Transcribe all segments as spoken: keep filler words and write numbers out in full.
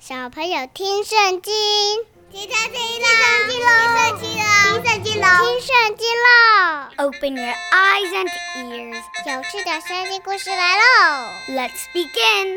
小朋友聽聖經，聽聖經咯，聽聖經咯，聽聖經咯，聽聖經咯。Open your eyes and ears， 有趣的聖經故事來嘍 ！Let's begin.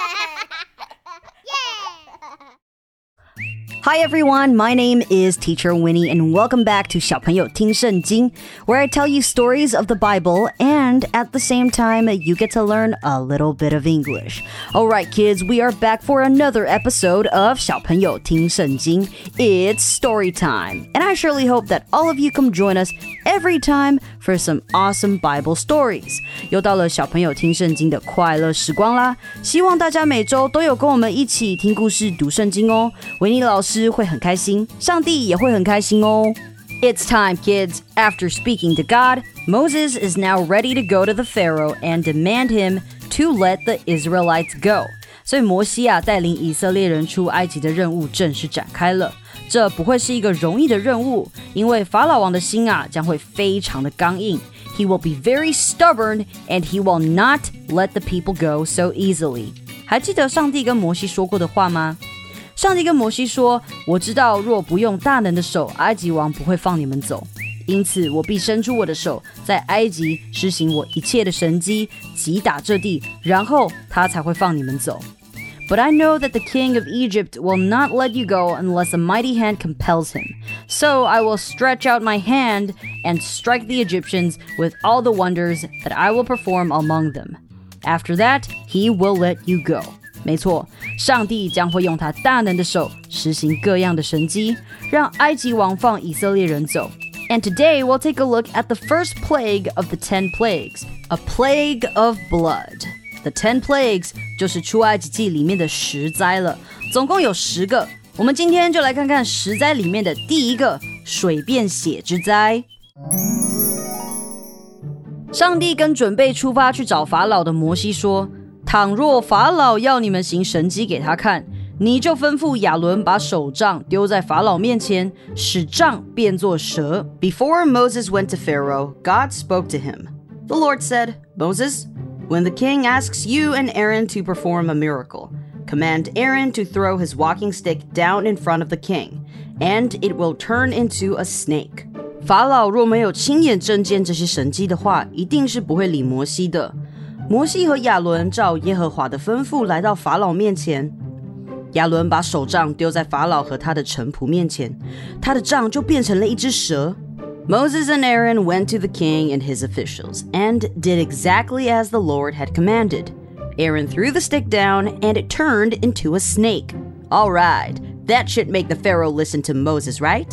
Hi everyone, my name is Teacher Winnie and welcome back to 小朋友聽聖經, where I tell you stories of the Bible and at the same time you get to learn a little bit of English. Alright kids, we are back for another episode of 小朋友聽聖經. It's story time, and I surely hope that all of you come join us every time for some awesome Bible stories. 又到了小朋友聽聖經的快樂時光啦，希望大家每周都有跟我們一起聽故事讀聖經哦。維尼老師會很開心，上帝也會很開心哦。It's time, kids. After speaking to God, Moses is now ready to go to the Pharaoh and demand him to let the Israelites go. 所以摩西啊，帶領以色列人出埃及的任務正式展開了。這不會是一個容易的任務，因為法老王的心啊，將會非常的剛硬。He will be very stubborn, and he will not let the people go so easily. 還記得上帝跟摩西說過的話嗎？上帝跟摩西說，我知道若不用大能的手，埃及王不會放你們走。因此我必伸出我的手，在埃及施行我一切的神蹟，擊打這地，然後他才會放你們走。But I know that the king of Egypt will not let you go unless a mighty hand compels him. So I will stretch out my hand and strike the Egyptians with all the wonders that I will perform among them. After that, he will let you go. 沒錯，上帝將會用他大能的手實行各樣的神蹟，讓埃及王放以色列人走。And today we'll take a look at the first plague of the ten plagues, a plague of blood.The ten plagues 就是出埃及記裡面的十災了，總共有十個。我們今天就來看看十災裡面的第一個水變血之災。上帝跟準備出發去找法老的摩西說，倘若法老要你們行神蹟給他看，你就吩咐亞倫把手杖丟在法老面前，使杖變作蛇。Before Moses went to Pharaoh, God spoke to him. The Lord said, Moses,When the king asks you and Aaron to perform a miracle, command Aaron to throw his walking stick down in front of the king, and it will turn into a snake. 法老若沒有親眼證見這些神蹟的話，一定是不會理摩西的。摩西和亞倫照耶和華的吩咐來到法老面前，亞倫把手杖丟在法老和他的臣僕面前，他的杖就變成了一隻蛇。Moses and Aaron went to the king and his officials and did exactly as the Lord had commanded. Aaron threw the stick down and it turned into a snake. All right, that should make the Pharaoh listen to Moses, right?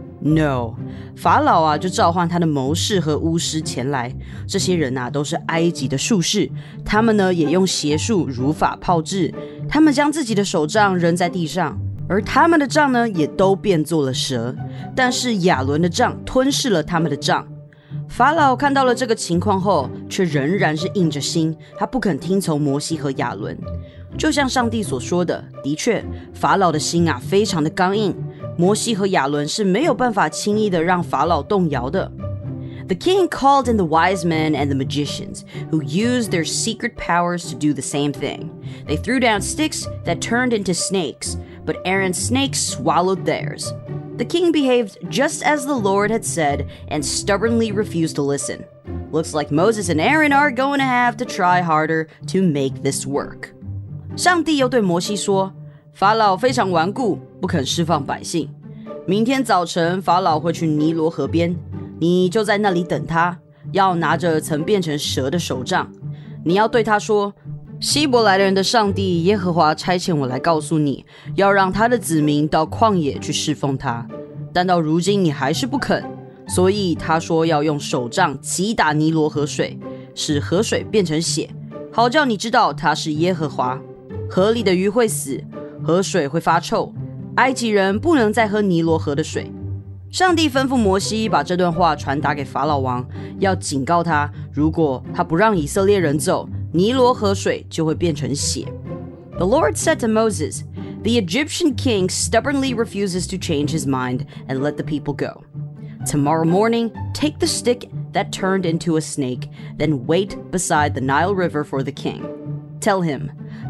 No. 法老啊，就召喚他的謀士和巫師前來。這些人啊，都是埃及的術士，他們呢也用邪術如法炮製。他們將自己的手杖扔在地上。而他們的杖呢，也都變作了蛇，但是亞倫的杖吞噬了他們的杖。法老看到了這個情況後，卻仍然是硬着心，他不肯聽從摩西和亞倫。就像上帝所說的，的確，法老的心啊，非常的剛硬。摩西和亞倫是沒有辦法輕易的讓法老動搖的。The king called in the wise men and the magicians, who used their secret powers to do the same thing. They threw down sticks that turned into snakes.But Aaron's snakes swallowed theirs. The king behaved just as the Lord had said and stubbornly refused to listen. Looks like Moses and Aaron are going to have to try harder to make this work. 上帝又對摩西說，法老非常頑固，不肯釋放百姓。明天早晨，法老會去尼羅河邊，你就在那裡等他，要拿着曾變成蛇的手杖。你要對他說，希伯來人的上帝耶和華差遣我來告訴你，要讓他的子民到曠野去侍奉他。但到如今你還是不肯，所以他說要用手杖擊打尼羅河水，使河水變成血，好叫你知道他是耶和華。河裡的魚會死，河水會發臭，埃及人不能再喝尼羅河的水。上帝吩咐摩西把這段話傳達給法老王，要警告他，如果他不讓以色列人走，尼羅河水就會變成血。The Lord said to Moses, The Egyptian king stubbornly refuses to change his mind and let the people go. Tomorrow morning, take the stick that turned into a snake, then wait beside the Nile River for the king. Tell him,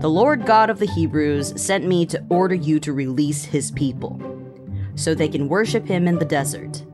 The Lord God of the Hebrews sent me to order you to release his people, so they can worship him in the desert.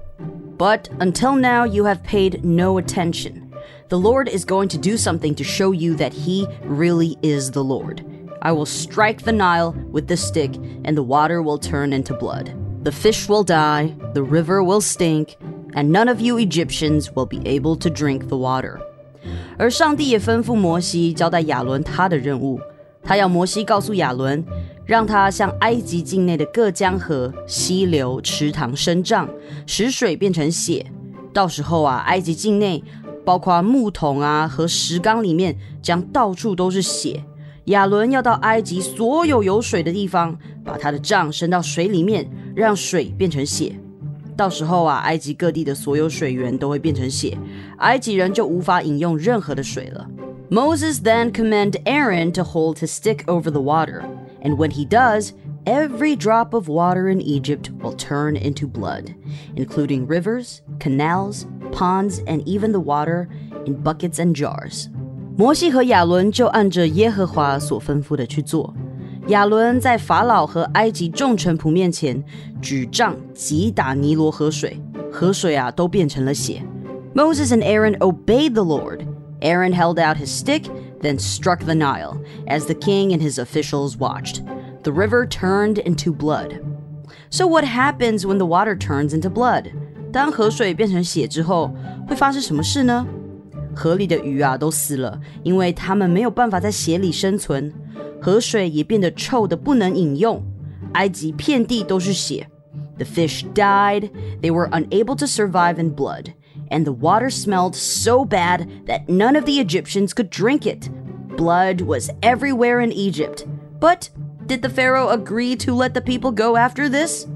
But until now you have paid no attention. The Lord is going to do something to show you that he really is the Lord. I will strike the Nile with the stick, and the water will turn into blood. The fish will die, the river will stink, and none of you Egyptians will be able to drink the water. 而上帝也吩咐摩西交代亞倫他的任務，他要摩西告訴亞倫，讓他向埃及境內的各江河、溪流、池塘伸杖，使水變成血。到時候啊，埃及境內包括木桶啊和石缸裡面將到處都是血。亞倫要到埃及所有有水的地方，把他的杖伸到水裡面，讓水變成血。到時候啊，埃及各地的所有水源都會變成血，埃及人就無法飲用任何的水了。Moses then commanded Aaron to hold his stick over the water, and when he does, every drop of water in Egypt will turn into blood, including rivers, canals, ponds, and even the water in buckets and jars. 摩西和亞倫就按着耶和華所吩咐的去做。亞倫在法老和埃及眾臣僕面前舉杖擊打尼羅河水，河水啊都變成了血。Moses and Aaron obeyed the Lord. Aaron held out his stick, then struck the Nile, as the king and his officials watched. The river turned into blood. So what happens when the water turns into blood? 當河水變成血之後，會發生什麼事呢？河裡的魚啊都死了，因為它們沒有辦法在血裡生存。河水也變得臭得不能飲用，埃及遍地都是血。The fish died, they were unable to survive in blood, and the water smelled so bad that none of the Egyptians could drink it. Blood was everywhere in Egypt. But did the Pharaoh agree to let the people go after this?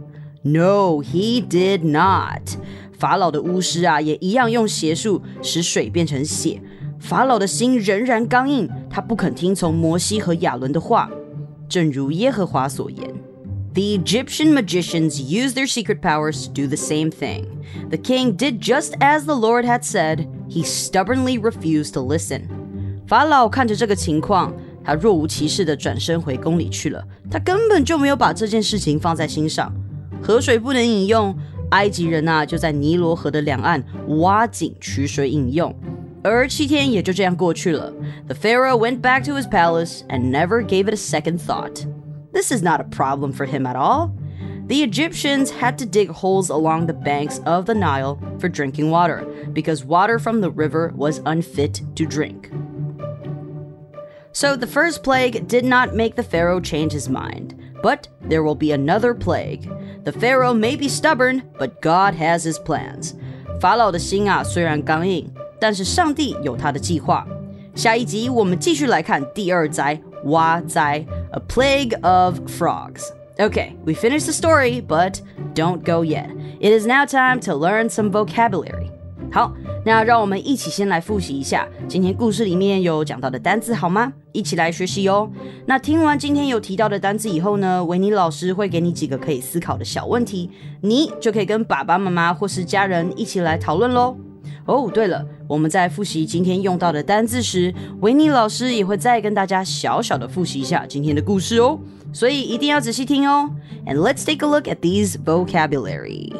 No, he did not. 法老的巫師啊，也一樣用邪術使水變成血。法老的心仍然剛硬，他不肯聽從摩西和亞倫的話，正如耶和華所言。The Egyptian magicians used their secret powers to do the same thing. The king did just as the Lord had said. He stubbornly refused to listen. 法老看着這個情況，他若無其事地轉身回宮裡去了，他根本就沒有把這件事情放在心上。河水不能飲用，埃及人啊就在尼羅河的兩岸挖井取水飲用。而七天也就這樣過去了。The Pharaoh went back to his palace and never gave it a second thought. This is not a problem for him at all. The Egyptians had to dig holes along the banks of the Nile for drinking water, because water from the river was unfit to drink. So the first plague did not make the Pharaoh change his mind, but there will be another plague. The Pharaoh may be stubborn, but God has his plans. 法老的心啊，雖然剛硬，但是上帝有他的計劃。下一集我們繼續來看第二災，蛙災 A plague of frogs. Okay, we finished the story, but don't go yet. It is now time to learn some vocabulary. 好，那讓我們一起先來複習一下今天故事裡面有講到的單字好嗎？一起來學習哦。那聽完今天有提到的單字以後呢，維尼老師會給你幾個可以思考的小問題，你就可以跟爸爸媽媽或是家人一起來討論咯。哦，對了，我們在複習今天用到的單字時，維尼老師也會再跟大家小小的複習一下今天的故事哦，所以一定要仔細聽哦。And let's take a look at these vocabulary.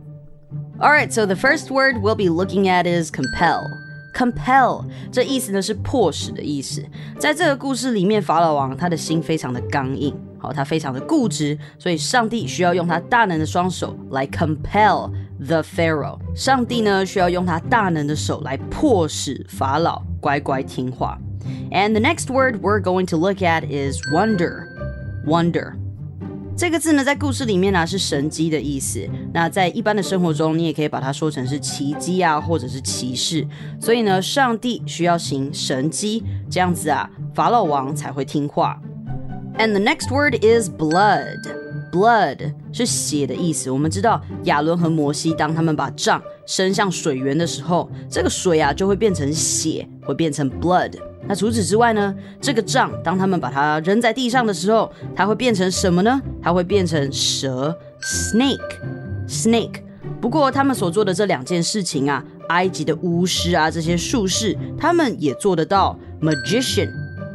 Alright, so the first word we'll be looking at is compel. Compel, 這意思呢是迫使的意思。在這個故事裡面，法老王他的心非常的剛硬，好，他非常的固執，所以上帝需要用他大能的雙手來 compel the Pharaoh. 上帝呢需要用他大能的手來迫使法老乖乖聽話。And the next word we're going to look at is wonder. Wonder.這個字呢，在故事裡面呢是神蹟的意思。那在一般的生活中，你也可以把它說成是奇蹟啊，或者是奇事。所以呢，上帝需要行神蹟，這樣子啊，法老王才會聽話。And the next word is blood. Blood 是血的意思。我們知道亞倫和摩西，當他們把杖伸向水源的時候，這個水啊就會變成血，會變成 blood。那除此之外呢，這個杖當他們把它扔在地上的時候，它會變成什麼呢？它會變成蛇 snake snake。不過他們所做的這兩件事情啊，埃及的巫師啊，這些術士，他們也做得到 magician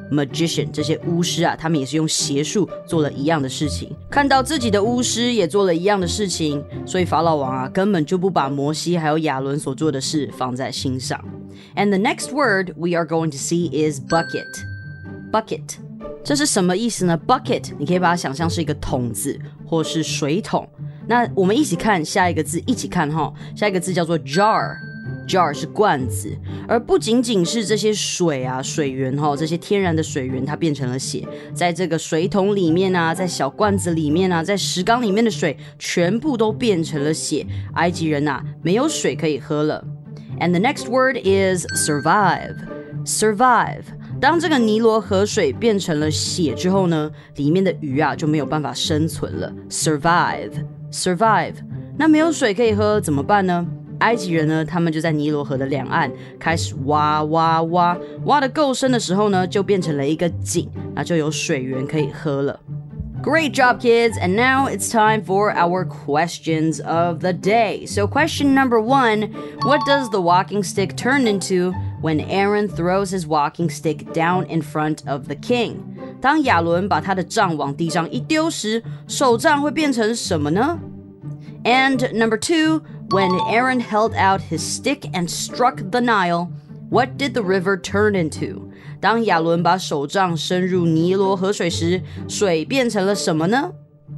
magician 這些巫師啊，他們也是用邪術做了一樣的事情。看到自己的巫師也做了一樣的事情，所以法老王啊根本就不把摩西還有亞倫所做的事放在心上。And the next word we are going to see is bucket. Bucket. 這是什麼意思呢？ Bucket 你可以把它想象是一個桶子或是水桶。那我們一起看下一個字，一起看齁。下一個字叫做 jar。Jar 是罐子，而不僅僅是這些水啊水源齁，這些天然的水源它變成了血，在這個水桶裡面啊，在小罐子裡面啊，在石缸裡面的水全部都變成了血。埃及人啊沒有水可以喝了。And the next word is survive. Survive. 當這個尼羅河水變成了血之後呢，裡面的魚啊就沒有辦法生存了。Survive. Survive. 那沒有水可以喝怎麼辦呢？埃及人呢，他們就在尼羅河的兩岸開始挖挖挖，挖得夠深的時候呢，就變成了一個井，那就有水源可以喝了。Great job, kids! And now it's time for our questions of the day. So question number one, what does the walking stick turn into when Aaron throws his walking stick down in front of the king? 當亞倫把他的杖往地上一丟時，手杖會變成什麼呢？ And number two, when Aaron held out his stick and struck the Nile, what did the river turn into? 當亞倫把手杖伸入尼羅河水時，水變成了什麼呢？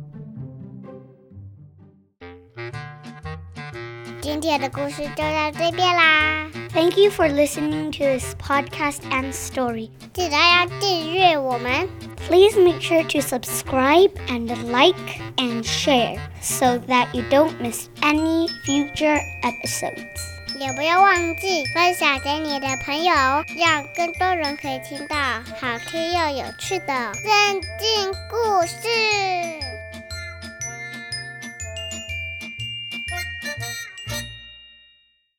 今天的故事就到這邊啦。Thank you for listening to this podcast and story. 記得要訂閱我們。Please make sure to subscribe and like and share so that you don't miss any future episodes. 也不要忘記分享給你的朋友，讓更多人可以聽到好聽又有趣的聖經故事。